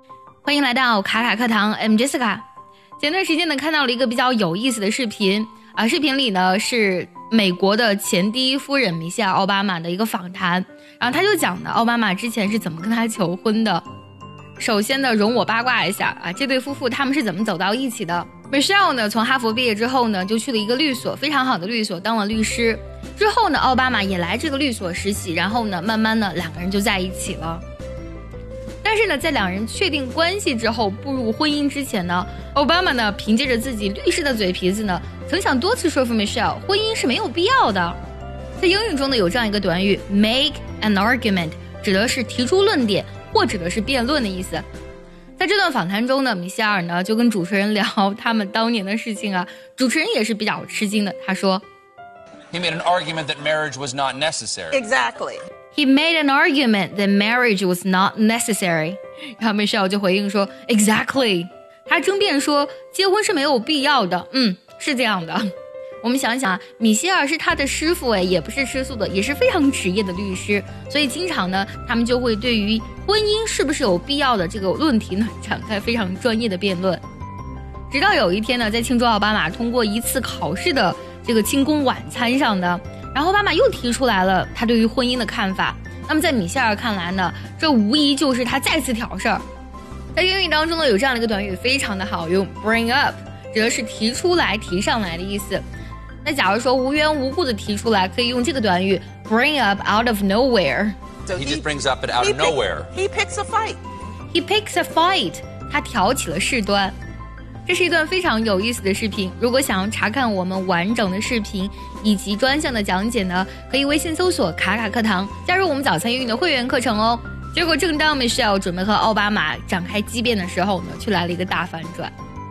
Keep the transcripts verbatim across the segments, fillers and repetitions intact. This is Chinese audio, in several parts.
欢迎来到卡卡课堂 ，I'm Jessica。前段时间呢，看到了一个比较有意思的视频啊，视频里呢是美国的前第一夫人米歇尔·奥巴马的一个访谈，然后他就讲的奥巴马之前是怎么跟他求婚的。首先呢，容我八卦一下啊，这对夫妇他们是怎么走到一起的 ？Michelle 呢，从哈佛毕业之后呢，就去了一个律所，非常好的律所，当了律师。之后呢，奥巴马也来这个律所实习，然后呢，慢慢的两个人就在一起了。但是呢，在两人确定关系之后，步入婚姻之前呢，奥巴马呢凭借着自己律师的嘴皮子呢，曾想多次说服 Michelle 婚姻是没有必要的。在英语中呢，有这样一个短语 make an argument， 指的是提出论点或指的是辩论的意思。在这段访谈中呢，米歇尔呢就跟主持人聊他们当年的事情啊，主持人也是比较吃惊的，他说 He made an argument that marriage was not necessary. Exactly.He made an argument that marriage was not necessary. 然后 Michelle 就回应说 Exactly. 他争辩说结婚是没有必要的。嗯，是这样的。我们想想啊，米歇尔是他的师傅，哎，也不是吃素的，也是非常职业的律师，所以经常呢，他们就会对于婚姻是不是有必要的这个论题呢，展开非常专业的辩论。直到有一天呢，在庆祝奥巴马通过一次考试的这个庆功晚餐上的。然后奥巴马又提出来了他对于婚姻的看法，那么在米歇尔看来呢，这无疑就是他再次挑事儿。在英语当中呢，有这样的一个短语非常的好用 bring up， 指的是提出来提上来的意思。那假如说无缘无故的提出来，可以用这个短语 bring up out of nowhere。 So he, he just brings up it out of nowhere. He picks a fight. He picks a fight. 他挑起了事端。这是一段非常有意思的视频，如果想要查看我们完整的视频以及专项的讲解呢，可以微信搜索卡卡课堂，加入我们早餐英语的会员课程哦。结果正当 Michelle 准备和奥巴马展开激辩的时候呢，却来了一个大反转。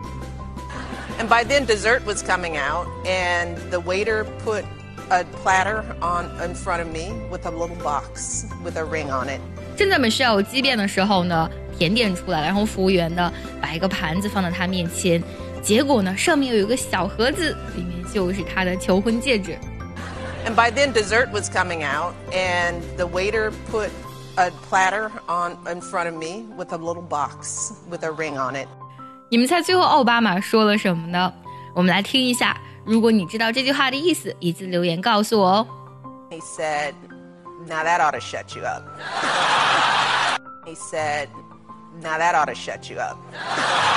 And by then dessert was coming out and the waiter put a platter on in front of me with a little box with a ring on it. 正在 Michelle 激辩的时候呢，甜点出来了，然后服务员呢把一个盘子放到他面前，结果呢上面有一个小盒子，里面就是他的求婚戒指。 And by then dessert was coming out and the waiter put a platter on in front of me with a little box with a ring on it. 你们猜最后奥巴马说了什么呢？我们来听一下，如果你知道这句话的意思，一字留言告诉我哦。 He said, "Now that ought to shut you up." He said, "Now that ought to shut you up."